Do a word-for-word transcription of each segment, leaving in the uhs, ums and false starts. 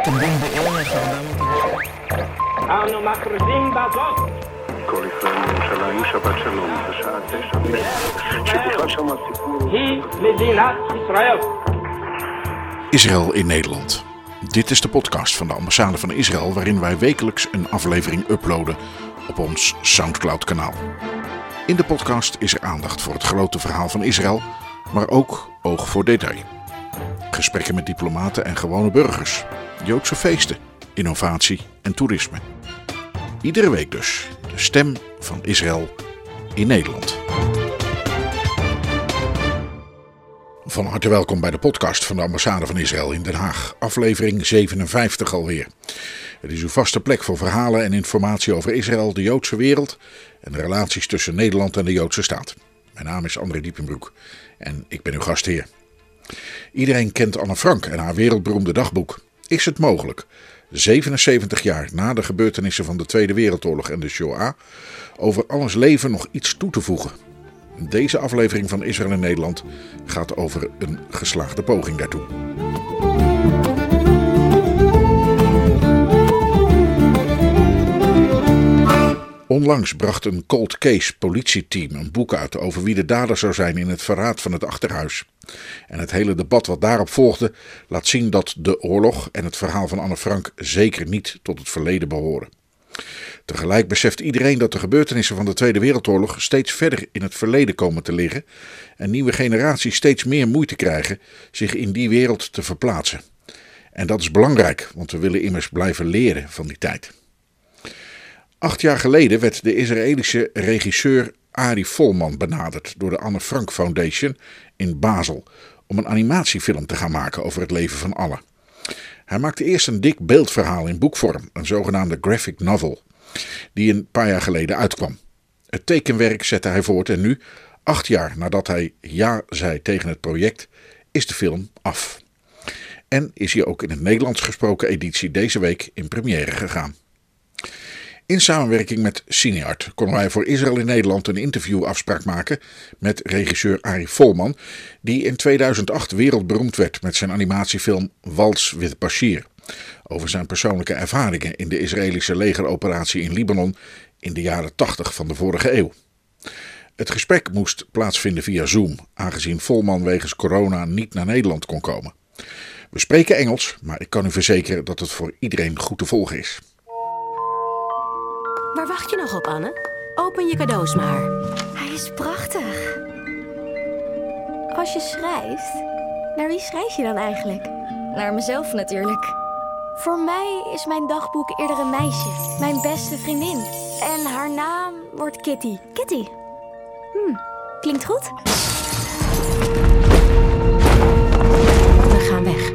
תקדם בערך ארבע מאות אנו מכריזים בזאת כל ישראל מירושלים, שבת שלום, בשעה תשע שבכלל שם הסיפור היא מדינת ישראל. Israël in Nederland. Dit is de podcast van de ambassade van Israël, waarin wij wekelijks een aflevering uploaden op ons Soundcloud-kanaal. In de podcast is er aandacht voor het grote verhaal van Israël, maar ook oog voor detail. Gesprekken met diplomaten en gewone burgers, Joodse feesten, innovatie en toerisme. Iedere week dus de stem van Israël in Nederland. Van harte welkom bij de podcast van de ambassade van Israël in Den Haag, aflevering zevenenvijftig alweer. Het is uw vaste plek voor verhalen en informatie over Israël, de Joodse wereld en de relaties tussen Nederland en de Joodse staat. Mijn naam is André Diepenbroek en ik ben uw gastheer. Iedereen kent Anne Frank en haar wereldberoemde dagboek. Is het mogelijk, zevenenzeventig jaar na de gebeurtenissen van de Tweede Wereldoorlog en de Shoah, over alles leven nog iets toe te voegen? Deze aflevering van Israël in Nederland gaat over een geslaagde poging daartoe. Onlangs bracht een cold case politieteam een boek uit over wie de dader zou zijn in het verraad van het Achterhuis. En het hele debat wat daarop volgde laat zien dat de oorlog en het verhaal van Anne Frank zeker niet tot het verleden behoren. Tegelijk beseft iedereen dat de gebeurtenissen van de Tweede Wereldoorlog steeds verder in het verleden komen te liggen en nieuwe generaties steeds meer moeite krijgen zich in die wereld te verplaatsen. En dat is belangrijk, want we willen immers blijven leren van die tijd. Acht jaar geleden werd de Israëlische regisseur Ari Folman benaderd door de Anne Frank Foundation in Basel om een animatiefilm te gaan maken over het leven van Anne. Hij maakte eerst een dik beeldverhaal in boekvorm, een zogenaamde graphic novel, die een paar jaar geleden uitkwam. Het tekenwerk zette hij voort en nu, acht jaar nadat hij ja zei tegen het project, is de film af. En is hij ook in het Nederlands gesproken editie deze week in première gegaan. In samenwerking met Cineart konden wij voor Israël in Nederland een interviewafspraak maken met regisseur Ari Folman, die in tweeduizend acht wereldberoemd werd met zijn animatiefilm Waltz with Bashir, over zijn persoonlijke ervaringen in de Israëlische legeroperatie in Libanon in de jaren tachtig van de vorige eeuw. Het gesprek moest plaatsvinden via Zoom, aangezien Folman wegens corona niet naar Nederland kon komen. We spreken Engels, maar ik kan u verzekeren dat het voor iedereen goed te volgen is. Waar wacht je nog op, Anne? Open je cadeaus maar. Hij is prachtig. Als je schrijft, naar wie schrijf je dan eigenlijk? Naar mezelf natuurlijk. Voor mij is mijn dagboek eerder een meisje. Mijn beste vriendin. En haar naam wordt Kitty. Kitty. Hm, klinkt goed. We gaan weg.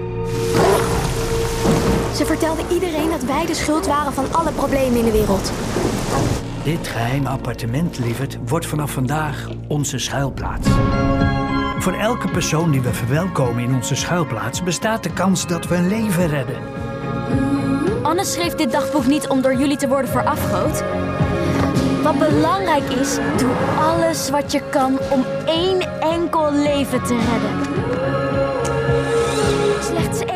Ze vertelde iedereen dat wij de schuld waren van alle problemen in de wereld. Dit geheime appartement, lieverd, wordt vanaf vandaag onze schuilplaats. Voor elke persoon die we verwelkomen in onze schuilplaats bestaat de kans dat we een leven redden. Anne schreef dit dagboek niet om door jullie te worden verafgood. Wat belangrijk is, doe alles wat je kan om één enkel leven te redden. Slechts één.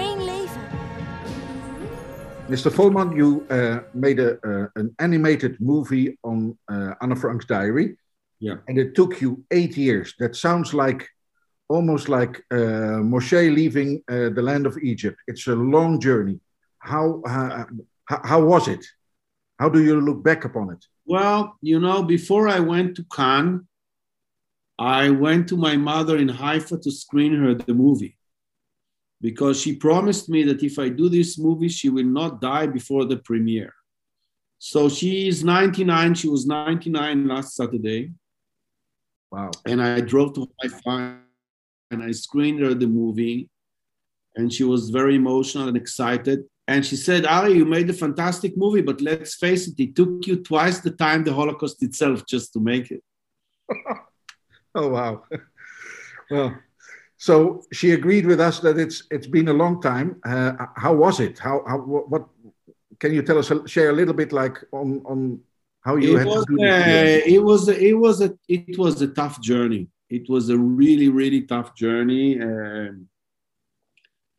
Mister Folman, you uh, made a, uh, an animated movie on uh, Anne Frank's diary. Yeah. And it took you eight years. That sounds like almost like uh, Moshe leaving uh, the land of Egypt. It's a long journey. How, uh, how how was it? How do you look back upon it? Well, you know, before I went to Cannes, I went to my mother in Haifa to screen her the movie. Because she promised me that if I do this movie, she will not die before the premiere. So she is ninety-nine. She was ninety-nine last Saturday. Wow. And I drove to Haifa and I screened her the movie. And she was very emotional and excited. And she said, Ari, you made a fantastic movie, but let's face it, it took you twice the time the Holocaust itself just to make it. Oh, wow. Well... So she agreed with us that it's it's been a long time. Uh, how was it? How how what can you tell us? Share a little bit, like on on how you it had was, to do this. Uh, it was a, it was a it was a tough journey. It was a really really tough journey. Um,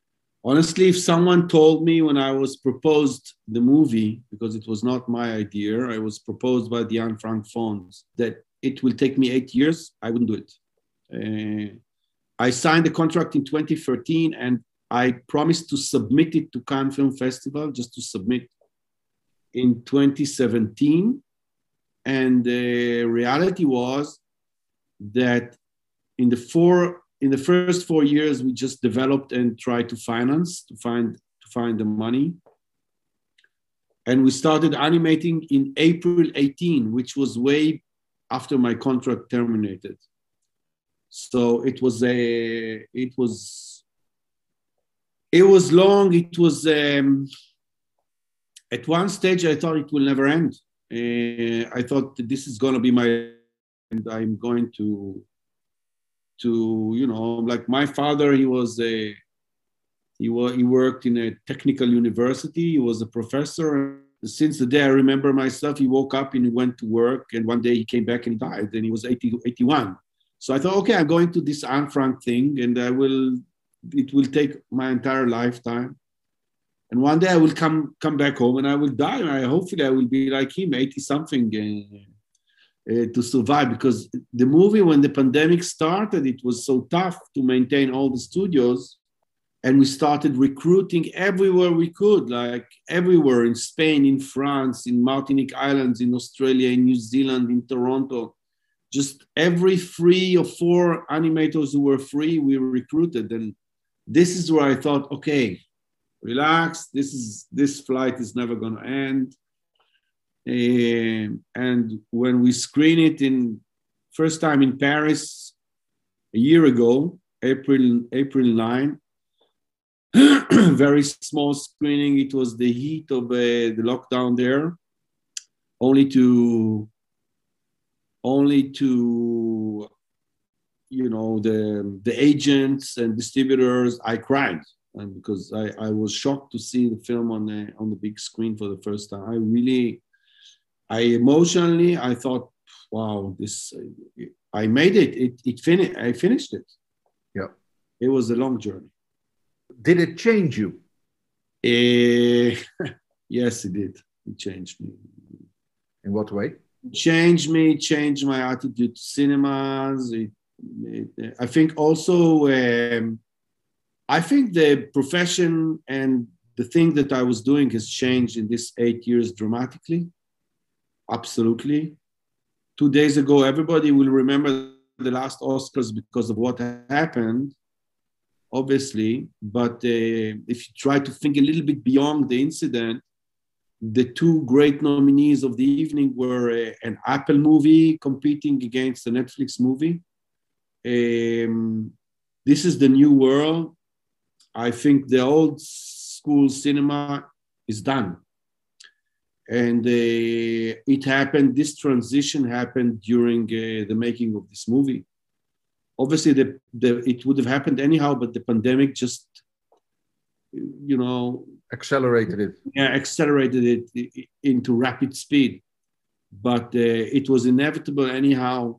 honestly, if someone told me when I was proposed the movie, because it was not my idea, I was proposed by the Anne Frank Fonds, that it will take me eight years, I wouldn't do it. Uh, I signed the contract in twenty thirteen and I promised to submit it to Cannes Film Festival, just to submit in twenty seventeen. And the reality was that in the four, in the first four years, we just developed and tried to finance, to find, to find the money. And we started animating in April eighteen, which was way after my contract terminated. So it was a, it was, it was long. It was, um, at one stage, I thought it will never end. Uh, I thought that this is going to be my, and I'm going to, to, you know, like my father, he was a, he was, he worked in a technical university. He was a professor. Since the day I remember myself, he woke up and he went to work. And one day he came back and he died and he was eighty, eighty-one. So I thought, okay, I'm going to this Anne Frank thing and I will, it will take my entire lifetime. And one day I will come come back home and I will die. And I, hopefully I will be like him, eighty something, uh, uh, to survive. Because the movie, when the pandemic started, it was so tough to maintain all the studios. And we started recruiting everywhere we could, like everywhere in Spain, in France, in Martinique Islands, in Australia, in New Zealand, in Toronto. Just every three or four animators who were free, we recruited. And this is where I thought, okay, relax, this is this flight is never going to end. Um, and when we screen it in first time in Paris a year ago, April April ninth, very small screening. It was the heat of uh, the lockdown there, only to only to you know the the agents and distributors. I cried. And because I, I was shocked to see the film on the on the big screen for the first time. I really, I emotionally, I thought, wow, this, I made it. It, it finished. I finished it. Yeah, it was a long journey. Did it change you? Uh, yes, it did. It changed me. In what way? It changed me. Changed my attitude to cinemas. It, it, I think also. Um, I think the profession and the thing that I was doing has changed in this eight years dramatically. Absolutely. Two days ago, everybody will remember the last Oscars because of what happened, obviously. But uh, if you try to think a little bit beyond the incident, the two great nominees of the evening were uh, an Apple movie competing against a Netflix movie. Um, this is the new world. I think the old school cinema is done. And uh, it happened, this transition happened during uh, the making of this movie. Obviously, the, the, it would have happened anyhow, but the pandemic just, you know... Accelerated it. Yeah, accelerated it into rapid speed. But uh, it was inevitable anyhow.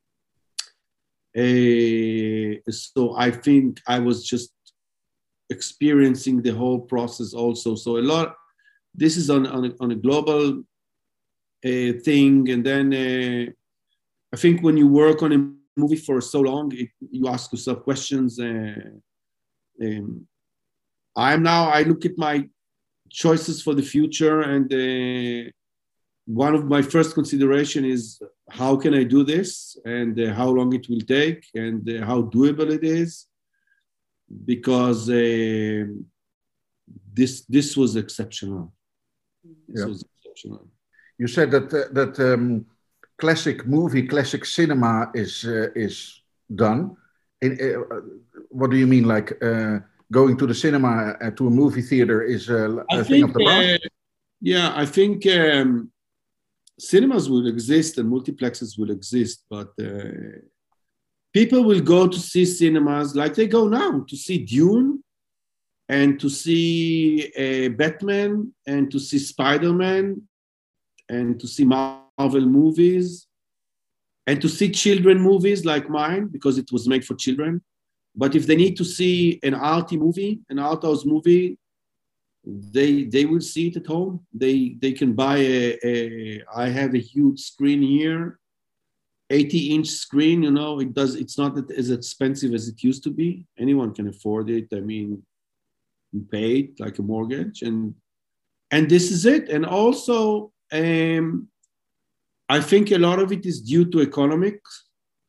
Uh, so I think I was just experiencing the whole process also. So a lot, this is on, on, a, on a global uh, thing. And then uh, I think when you work on a movie for so long, it, you ask yourself questions. Uh, um, I'm now, I look at my choices for the future, and uh, one of my first consideration is how can I do this, and uh, how long it will take, and uh, how doable it is. Because uh, this this was exceptional. This yeah. was exceptional. You said that uh, that um, classic movie, classic cinema is uh, is done. In, uh, what do you mean? Like uh, going to the cinema uh, to a movie theater is uh, a I thing think, of the past? Uh, yeah, I think um, cinemas will exist and multiplexes will exist, but. Uh, People will go to see cinemas like they go now to see Dune and to see uh, Batman and to see Spider-Man and to see Marvel movies and to see children movies like mine because it was made for children. But if they need to see an arty movie, an art house movie, they they will see it at home. They they can buy a, a I have a huge screen here, eighty inch screen, you know, it does, it's not as expensive as it used to be. Anyone can afford it. I mean, you pay it like a mortgage, and and this is it. And also, um, I think a lot of it is due to economics.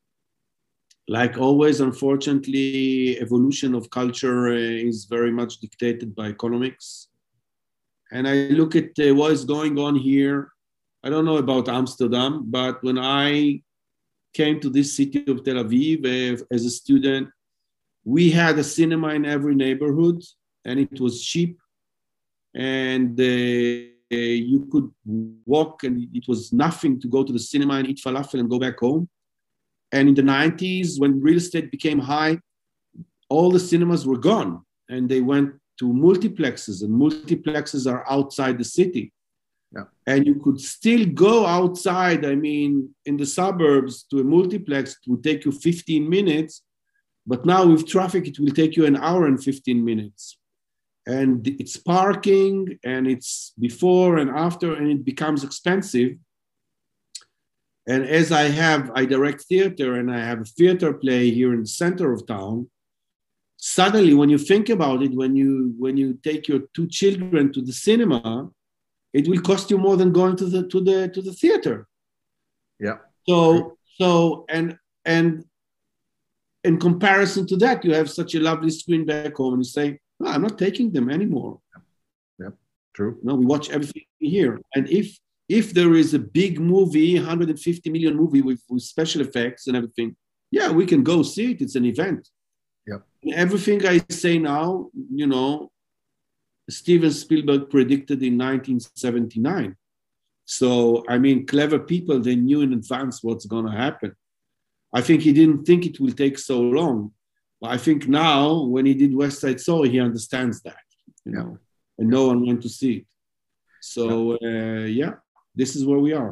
Like always, unfortunately, evolution of culture uh, is very much dictated by economics. And I look at uh, what is going on here. I don't know about Amsterdam, but when I came to this city of Tel Aviv uh, as a student, we had a cinema in every neighborhood, and it was cheap. And uh, you could walk, and it was nothing to go to the cinema and eat falafel and go back home. And in the nineties, when real estate became high, all the cinemas were gone, and they went to multiplexes, and multiplexes are outside the city. Yeah. And you could still go outside. I mean, in the suburbs to a multiplex, it would take you fifteen minutes, but now with traffic, it will take you an hour and fifteen minutes. And it's parking, and it's before and after, and it becomes expensive. And as I have, I direct theater, and I have a theater play here in the center of town. Suddenly, when you think about it, when you when you take your two children to the cinema, it will cost you more than going to the to the to the theater. Yeah. So so and and in comparison to that, you have such a lovely screen back home, and you say, no, I'm not taking them anymore. Yeah, true. No, we watch everything here, and if If there is a big movie, one hundred fifty million movie with, with special effects and everything, yeah, we can go see it. It's an event. Yeah. Everything I say now, you know, Steven Spielberg predicted in nineteen seventy-nine. So, I mean, clever people, they knew in advance what's going to happen. I think he didn't think it will take so long. But I think now, when he did West Side Story, he understands that, you know, and no one went to see it. So, uh, yeah. This is where we are.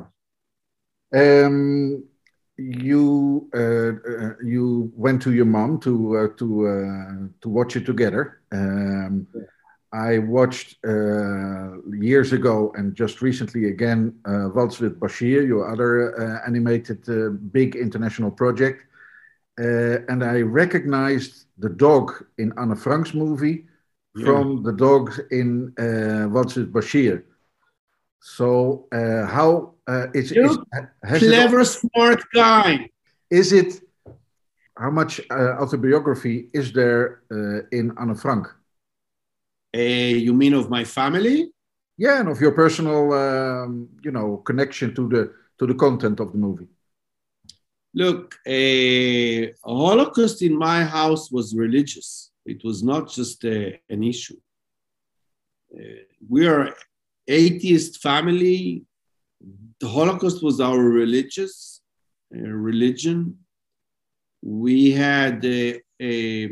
Um, you uh, uh, you went to your mom to uh, to uh, to watch it together. Um, I watched uh, years ago and just recently again uh, Waltz with Bashir, your other uh, animated uh, big international project, uh, and I recognized the dog in Anne Frank's movie yeah. from the dog in uh, Waltz with Bashir. So uh, how uh, is, is has clever, it, smart guy? Is it how much uh, autobiography is there uh, in Anne Frank? Uh, you mean of my family? Yeah, and of your personal, um, you know, connection to the to the content of the movie. Look, a uh, Holocaust in my house was religious. It was not just uh, an issue. Uh, we are atheist family. The Holocaust was our religious uh, religion. We had uh, a,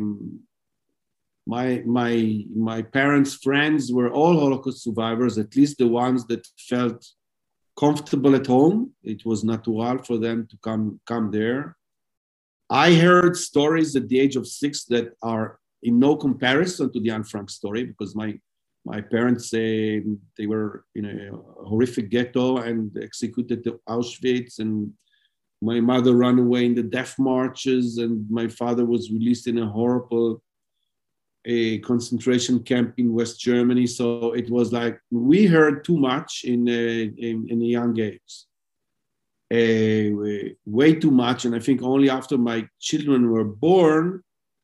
my my my parents' friends were all Holocaust survivors, at least the ones that felt comfortable at home. It was natural for them to come come there. I heard stories at the age of six that are in no comparison to the Anne Frank story, because my My parents say uh, they were in a horrific ghetto and executed to Auschwitz, and my mother ran away in the death marches, and my father was released in a horrible a concentration camp in West Germany. So it was like we heard too much in uh, in, in a young age, uh, way too much. And I think only after my children were born,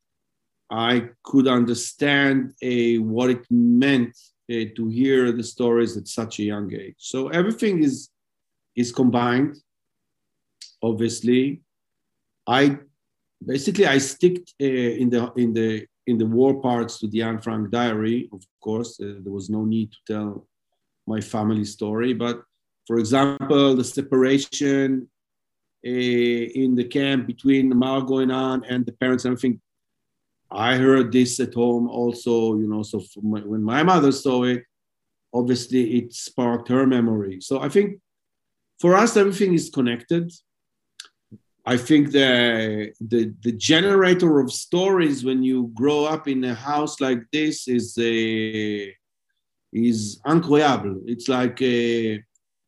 I could understand uh, what it meant uh, to hear the stories at such a young age. So everything is, is combined, obviously. I basically, I stick uh, in, the, in, the, in the war parts to the Anne Frank diary, of course. Uh, there was no need to tell my family story. But for example, the separation uh, in the camp between Margot and Anne and the parents and everything, I heard this at home also, you know, so my, when my mother saw it, obviously it sparked her memory. So I think for us, everything is connected. I think the, the the generator of stories when you grow up in a house like this is a, is incroyable. It's like a,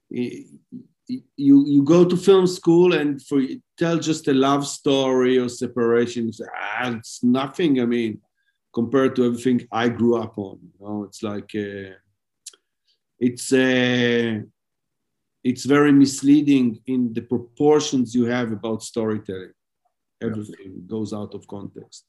you you go to film school and for tell just a love story or separation. It's, ah, it's nothing. I mean, compared to everything I grew up on. You know, it's like a, it's a. It's very misleading in the proportions you have about storytelling. Everything goes out of context.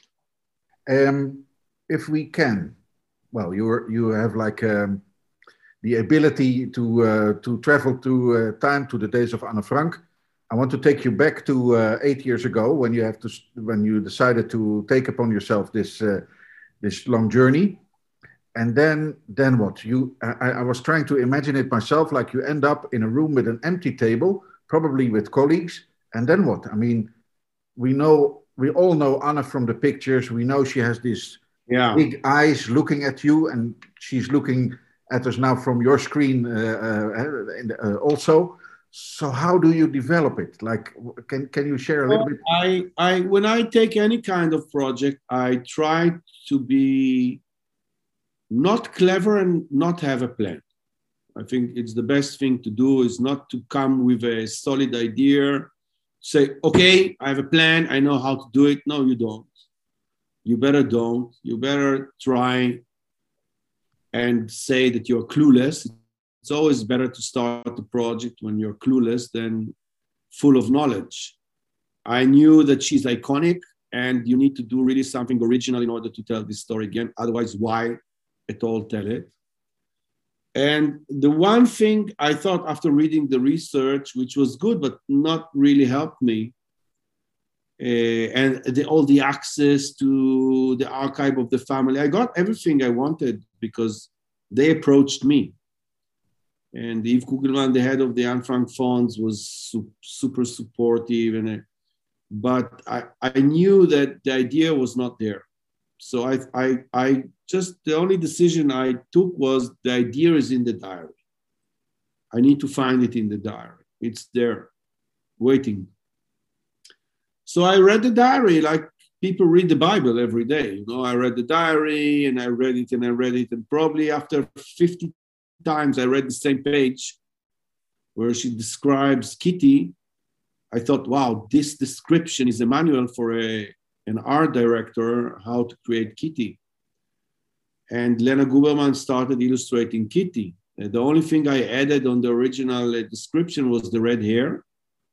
Um, if we can, well, you you have like um, the ability to uh, to travel to uh, time to the days of Anne Frank. I want to take you back to uh, eight years ago when you have to when you decided to take upon yourself this uh, this long journey. And then, then what? You, I, I was trying to imagine it myself, like you end up in a room with an empty table, probably with colleagues. And then what? I mean, we know, we all know Anne from the pictures. We know she has these yeah. big eyes looking at you, and she's looking at us now from your screen uh, uh, also. So how do you develop it? Like, can can you share a little well, bit? I, I, when I take any kind of project, I try to be not clever and not have a plan. I think it's the best thing to do is not to come with a solid idea, say, okay, I have a plan, I know how to do it. No, you don't. You better don't. You better try and say that you're clueless. It's always better to start a project when you're clueless than full of knowledge. I knew that she's iconic and you need to do really something original in order to tell this story again. Otherwise, why at all tell it? And the one thing I thought after reading the research, which was good, but not really helped me, uh, and the, all the access to the archive of the family, I got everything I wanted because they approached me. And Yves Kugelman, the head of the Anne Frank Funds, was su- super supportive. And I, but I, I knew that the idea was not there. So I, I, I just, the only decision I took was the idea is in the diary. I need to find it in the diary. It's there, waiting. So I read the diary like people read the Bible every day. You know, I read the diary and I read it and I read it. And probably after fifty times I read the same page where she describes Kitty, I thought, wow, this description is a manual for a, an art director, how to create Kitty. And Lena Guberman started illustrating Kitty. Uh, the only thing I added on the original uh, description was the red hair.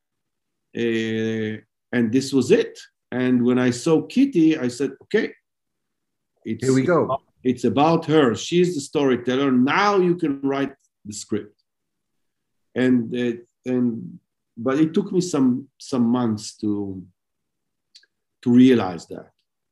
Uh, and this was it. And when I saw Kitty, I said, okay, it's, here we go. It's about her. She's the storyteller. Now you can write the script. And, uh, and but it took me some, some months to, to realize that.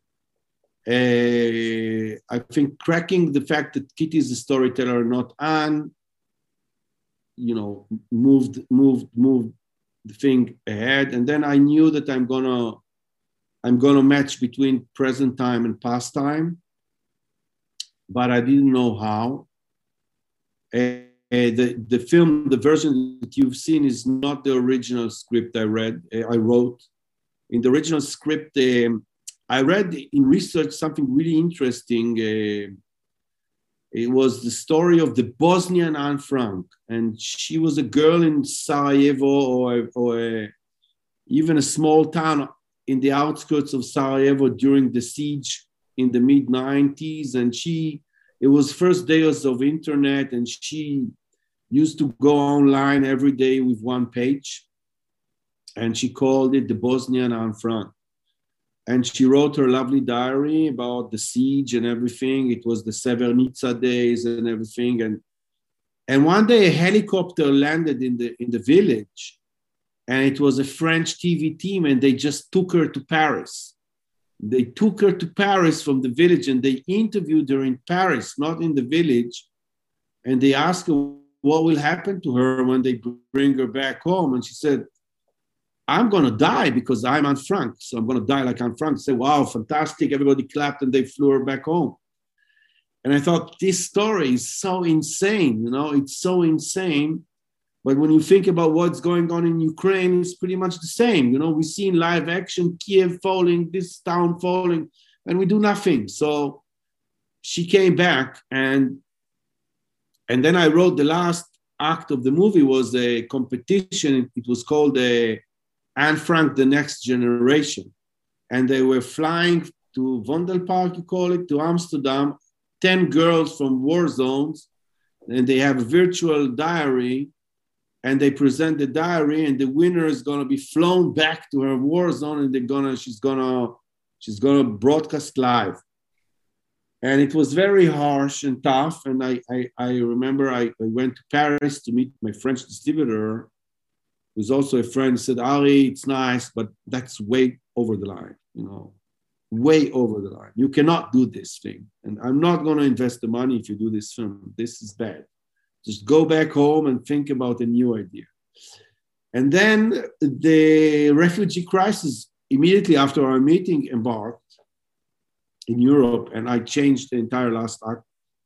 Uh, I think cracking the fact that Kitty is the storyteller, not Anne, you know, moved, moved, moved the thing ahead. And then I knew that I'm gonna, I'm gonna match between present time and past time, but I didn't know how. Uh, the, the film, the version that you've seen is not the original script I read, uh, I wrote. In the original script, um, I read in research something really interesting. Uh, it was the story of the Bosnian Anne Frank. And she was a girl in Sarajevo or, or a, even a small town in the outskirts of Sarajevo during the siege in the mid nineties. And she, it was first days of internet and she used to go online every day with one page. And she called it the Bosnian Anne Frank. And she wrote her lovely diary about the siege and everything. It was the Srebrenica days and everything. And, and one day a helicopter landed in the, in the village and it was a French T V team and they just took her to Paris. They took her to Paris from the village and they interviewed her in Paris, not in the village. And they asked her what will happen to her when they bring her back home. And she said, I'm going to die because I'm Anne Frank. So I'm going to die like Anne Frank. Say, wow, fantastic. Everybody clapped and they flew her back home. And I thought, this story is so insane. You know, it's so insane But when you think about what's going on in Ukraine, it's pretty much the same. You know, we see in live action Kiev falling, this town falling, and we do nothing. So she came back, and and then I wrote the last act of the movie was a competition. It was called uh, Anne Frank, The Next Generation. And they were flying to Vondelpark, you call it, to Amsterdam, ten girls from war zones, and they have a virtual diary, and they present the diary, and the winner is gonna be flown back to her war zone, and they're gonna, she's gonna, she's gonna broadcast live. And it was very harsh and tough. And I, I, I remember I, I went to Paris to meet my French distributor, who's also a friend, said, Ari, it's nice, but that's way over the line, you know, way over the line. You cannot do this thing. And I'm not going to invest the money if you do this film. This is bad. Just go back home and think about a new idea. And then the refugee crisis, immediately after our meeting, embarked in Europe, and I changed the entire last act.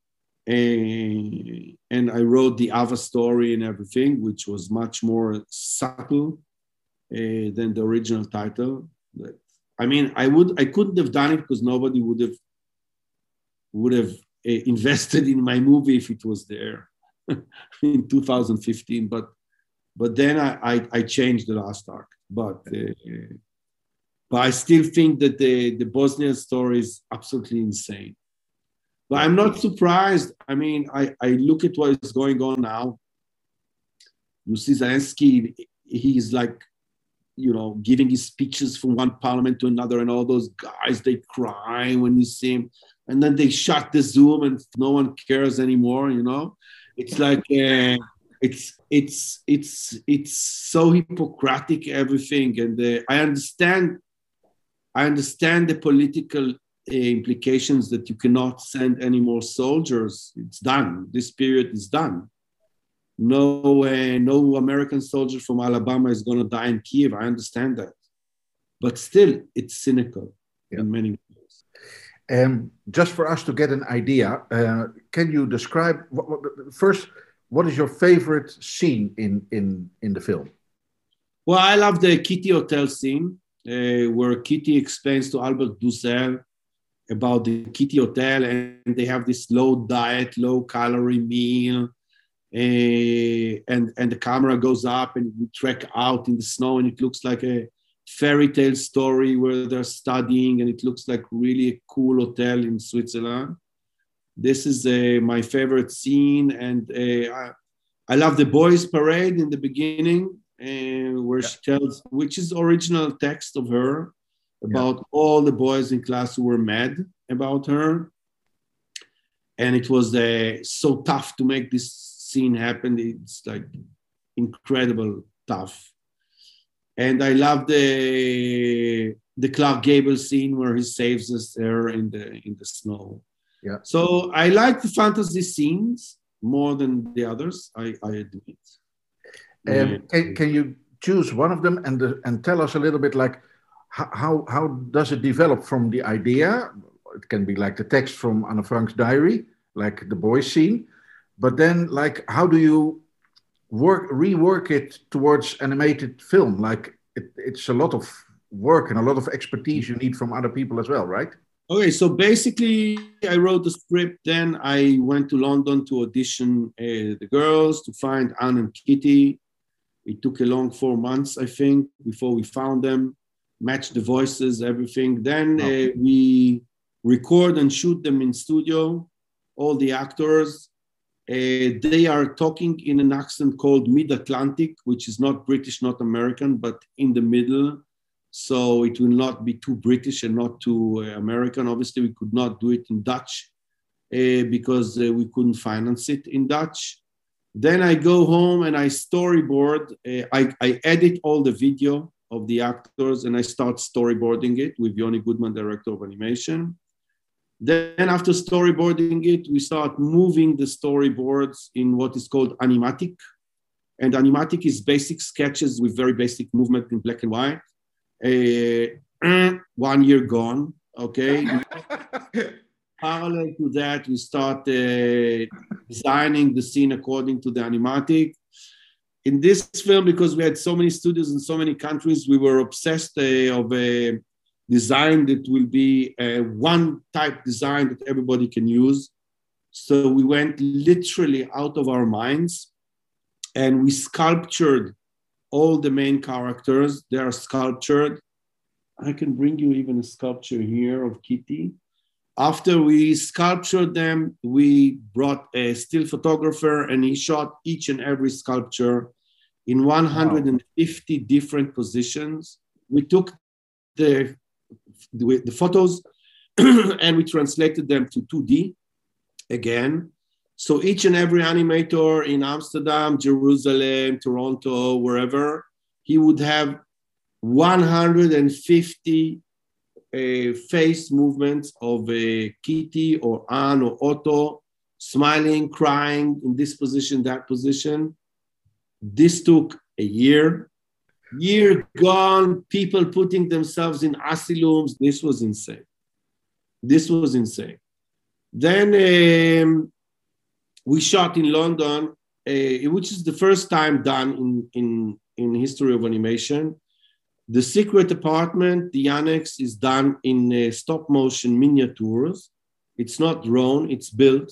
And, and I wrote the Ava story and everything, which was much more subtle uh, than the original title. But, I mean, I would, I couldn't have done it because nobody would have would have uh, invested in my movie if it was there in two thousand fifteen. But but then I, I, I changed the last act. But uh, but I still think that the, the Bosnian story is absolutely insane. But I'm not surprised. I mean, I, I look at what is going on now. You see Zelensky, he's like, you know, giving his speeches from one parliament to another, and all those guys, they cry when you see him. And then they shut the Zoom and no one cares anymore, you know? It's like, uh, it's, it's, it's, it's so Hippocratic, everything. And uh, I understand, I understand the political uh, implications that you cannot send any more soldiers. It's done. This period is done. No, uh, no American soldier from Alabama is going to die in Kiev. I understand that. But still, it's cynical yeah. in many ways. Um, just for us to get an idea, uh, can you describe, what, what, first, what is your favorite scene in, in, in the film? Well, I love the Kitty Hotel scene. Uh, where Kitty explains to Albert Dussel about the Kitty Hotel, and they have this low diet, low calorie meal, uh, and, and the camera goes up and we trek out in the snow, and it looks like a fairy tale story where they're studying, and it looks like really a cool hotel in Switzerland. This is uh, my favorite scene, and uh, I, I love the boys' parade in the beginning, Uh, where yeah. she tells, which is original text of her, about yeah. all the boys in class who were mad about her. And it was uh, so tough to make this scene happen. It's like incredible tough. And I love the the Clark Gable scene where he saves us there in the in the snow. Yeah. So I like the fantasy scenes more than the others. I, I admit. Um, can, can you choose one of them and the, and tell us a little bit like how how does it develop from the idea? It can be like the text from Anne Frank's diary, like the boys scene, but then like how do you work rework it towards animated film? Like it, it's a lot of work and a lot of expertise you need from other people as well, right? Okay, so basically I wrote the script, then I went to London to audition uh, the girls, to find Anne and Kitty. It took a long four months, I think, before we found them, matched the voices, everything. Then uh, we record and shoot them in studio, all the actors. Uh, they are talking in an accent called Mid-Atlantic, which is not British, not American, but in the middle. So it will not be too British and not too uh, American. Obviously, we could not do it in Dutch uh, because uh, we couldn't finance it in Dutch. Then I go home and I storyboard. Uh, I, I edit all the video of the actors and I start storyboarding it with Yoni Goodman, director of animation. Then after storyboarding it, we start moving the storyboards in what is called animatic. And animatic is basic sketches with very basic movement in black and white. Uh, one year gone, okay? Parallel to that, we start uh, designing the scene according to the animatic. in this film, because we had so many studios in so many countries, we were obsessed uh, of a design that will be a one type design that everybody can use. So we went literally out of our minds and we sculptured all the main characters. They are sculptured. I can bring you even a sculpture here of Kitty. After we sculptured them, we brought a still photographer and he shot each and every sculpture in one hundred fifty wow. different positions. We took the, the, the photos and we translated them to two D again. So each and every animator in Amsterdam, Jerusalem, Toronto, wherever, he would have one hundred fifty uh, face movements of a Kitty or Anne or Otto, smiling, crying in this position, that position. This took a year. Year gone, people putting themselves in asylums. This was insane. This was insane. Then um, we shot in London, uh, which is the first time done in, in, in history of animation. The secret apartment, the annex, is done in uh, stop motion miniatures. It's not drawn, it's built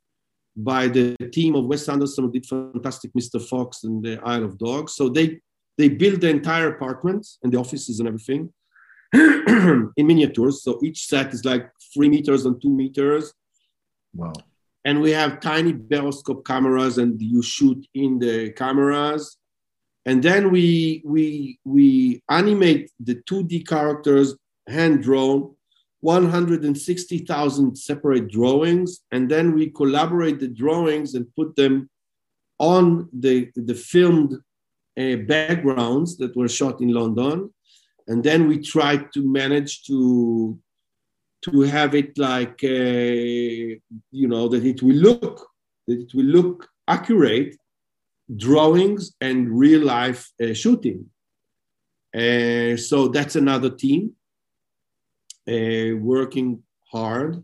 by the team of Wes Anderson, who did fantastic Mister Fox and the Isle of Dogs. So they, they built the entire apartment and the offices and everything in miniatures. So each set is like three meters and two meters. Wow. And we have tiny baroscope cameras and you shoot in the cameras. And then we, we, we animate the two D characters hand-drawn, one hundred sixty thousand separate drawings. And then we collaborate the drawings and put them on the, the filmed uh, backgrounds that were shot in London. And then we tried to manage to, to have it like, uh, you know, that it will look, that it will look accurate, drawings and real life uh, shooting. Uh, so that's another team uh, working hard.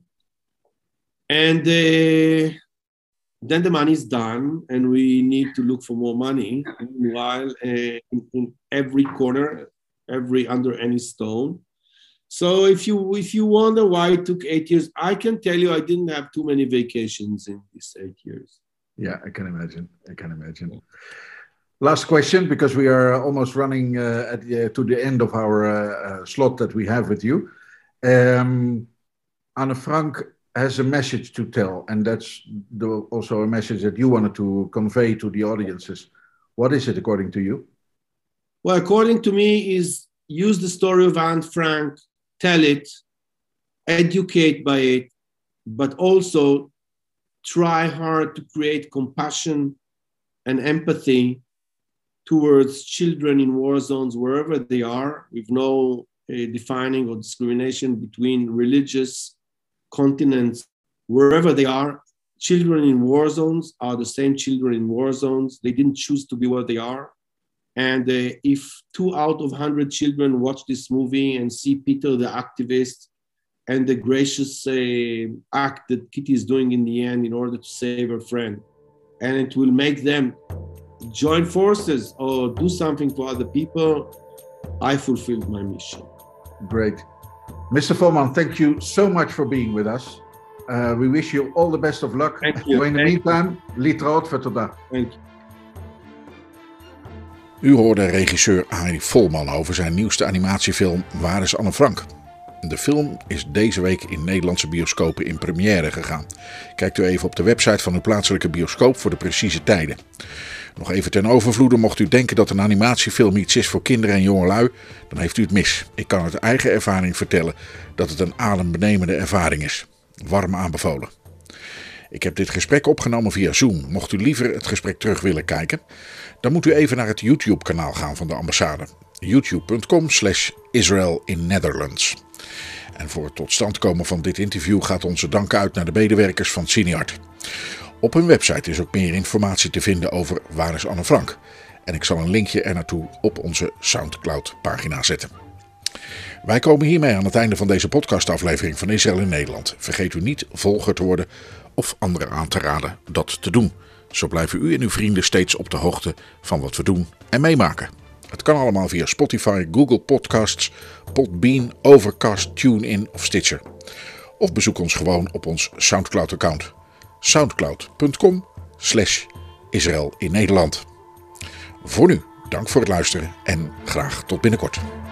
And uh, then the money is done and we need to look for more money. Meanwhile, uh, in, in every corner, every under any stone. So if you if you wonder why it took eight years, I can tell you I didn't have too many vacations in these eight years. Yeah, I can imagine. I can imagine. Last question, because we are almost running uh, at the, uh, to the end of our uh, uh, slot that we have with you. Um, Anne Frank has a message to tell, and that's the, also a message that you wanted to convey to the audiences. What is it, according to you? Well, according to me, is use the story of Anne Frank, tell it, educate by it, but also try hard to create compassion and empathy towards children in war zones, wherever they are, with no uh, defining or discrimination between religious continents, wherever they are. Children in war zones are the same children in war zones. They didn't choose to be where they are. And uh, if two out of one hundred children watch this movie and see Peter the activist and the gracious uh, act that Kitty is doing in the end in order to save her friend, and it will make them join forces or do something for other people, I fulfilled my mission. Great. Mister Volman, thank you so much for being with us. Uh, we wish you all the best of luck. Thank you. So in the Thank meantime, Litraut voor vandaag. Thank you. U hoorde regisseur Arie Volman over zijn nieuwste animatiefilm Waar is Anne Frank? De film is deze week in Nederlandse bioscopen in première gegaan. Kijkt u even op de website van uw plaatselijke bioscoop voor de precieze tijden. Nog even ten overvloede, mocht u denken dat een animatiefilm iets is voor kinderen en jongelui, dan heeft u het mis. Ik kan uit eigen ervaring vertellen dat het een adembenemende ervaring is. Warm aanbevolen. Ik heb dit gesprek opgenomen via Zoom. Mocht u liever het gesprek terug willen kijken, dan moet u even naar het YouTube-kanaal gaan van de ambassade. youtube punt com slash Israel in Netherlands. En voor het tot stand komen van dit interview gaat onze dank uit naar de medewerkers van Cineart. Op hun website is ook meer informatie te vinden over Waar is Anne Frank. En ik zal een linkje er naartoe op onze Soundcloud-pagina zetten. Wij komen hiermee aan het einde van deze podcastaflevering van Israël in Nederland. Vergeet u niet volger te worden of anderen aan te raden dat te doen. Zo blijven u en uw vrienden steeds op de hoogte van wat we doen en meemaken. Het kan allemaal via Spotify, Google Podcasts, Podbean, Overcast, TuneIn of Stitcher. Of bezoek ons gewoon op ons Soundcloud-account. soundcloud.com slash Israël in Nederland. Voor nu, dank voor het luisteren en graag tot binnenkort.